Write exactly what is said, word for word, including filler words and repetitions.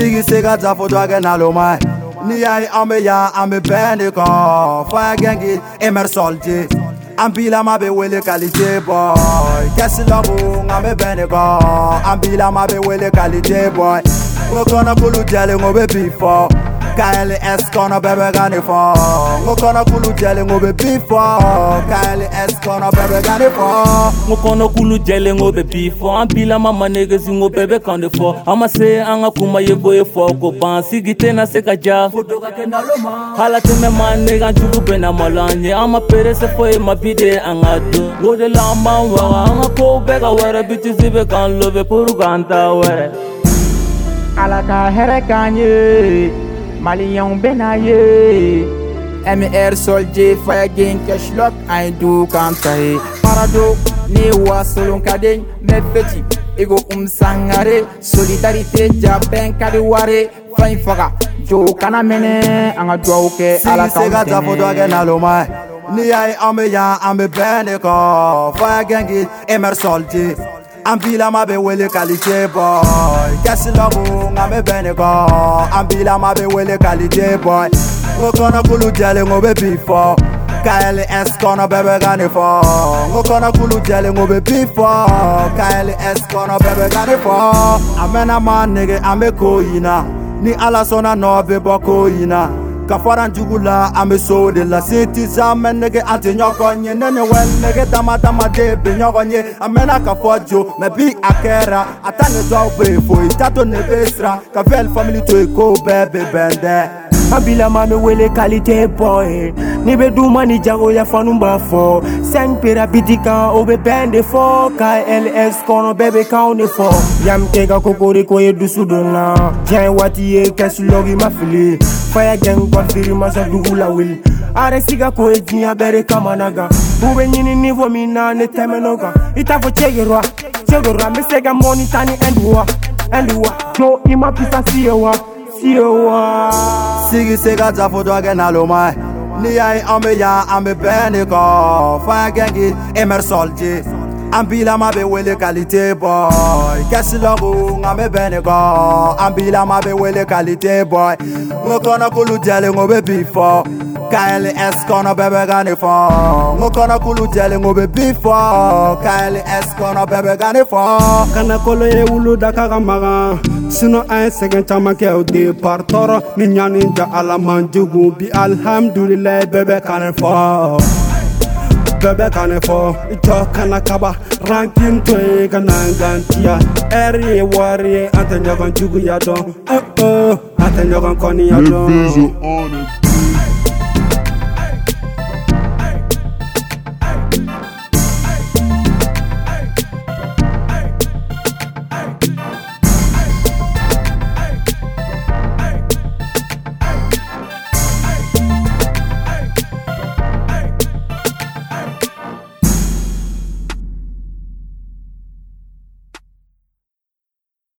Sigi sega za foto age na lo mai. Ni ai ambe ya ambe bende ko. Fire gengi emer soldier. Ambila ma be wele qualité boy. Kesi logo ambe bende ko. Ambila ma be wele qualité boy. Ngokona kulu jale ngobe before. K L S kono bebe gani fo. Ngokona kulu jale ngobe before. K L S kono bebe gani fo. Ngokona kulu jale ngobe before. Ambila mama niggas ngo bebe kande fo. Ama se anga kuma yebo ye fo ko ban sigite na seka ja. Foto ka kenda loma. Hala teme man nigga jugu bena malanye. Ama pere se fo e mabide anga do. Ngode la ama wa anga ko bega were bitches be kan love puru ganta were. Alaka here kanye Malion benaye M R soldier fire gang cash lock I do kantai Parado ne wa solon kaden me petit ego um sangare solidarité jaben kadi ware fain faga jo kana mene anga dwauke ala ka sega za foto age na lo mai. Ni ai ambe ya ambe bende ko. Fire gang M R soldier. Ambila ma be wele qualité boy. Kesi logo ngame bene ko. Ambila ma be wele qualité boy. Ngokona kulu jale ngobe before. K L S kono bebe gani fo. Ngokona kulu jale ngobe before. K L S kono bebe gani fo. Amena man nigga ambe koyina. Ni ala sona no be boko yina. Kafaran jugula ambe so de la city zaman nege ante nyokonye nene wel nege dama dama de be nyokonye amena kafojo me bi akera atane do be fo itato ne besra ka vel family to eko bebe bende. Ambila ma me wele qualité boy. Ni be du mani jago ya fanumba fo. Sen pera bitika obe bende fo. K L S kono bebe kaune fo. Yam kega kokori ko ye dusudona. Jai wati ye kesu logi mafili. Fire gang kwa firima sa dugula will. Are siga ko e jinya bere kamanaga. Ube nyini nivo mina ne temenoga. Ita fo chegirwa. Chegirwa me sega money tani endwa. Endwa. No ima pisa siyewa. Siyewa. Sigi sega za foto age na lo mai. Ni ai ambe ya ambe bende ko. Fire gang M R soldier. Ambila ma be wele qualité boy. Kesi logo ngame bene ko. Ambila ma be wele qualité boy. Ngokona kulu jale ngobe before. K L S kono bebe gani fo. Ngokona kulu jale ngobe before. K L S kono bebe gani fo. Kana kolo ye wulu daka gamaga. Sino ay segen chamake o de partoro. Ni nyani ja ala manjugu bi alhamdulillah bebe kane fo. Bebe kane fo. Ito kana kaba. Ranking to e kanangantia. Eri wari ante nyogon jugu ya don. Oh oh. Ante nyogon koni ya don.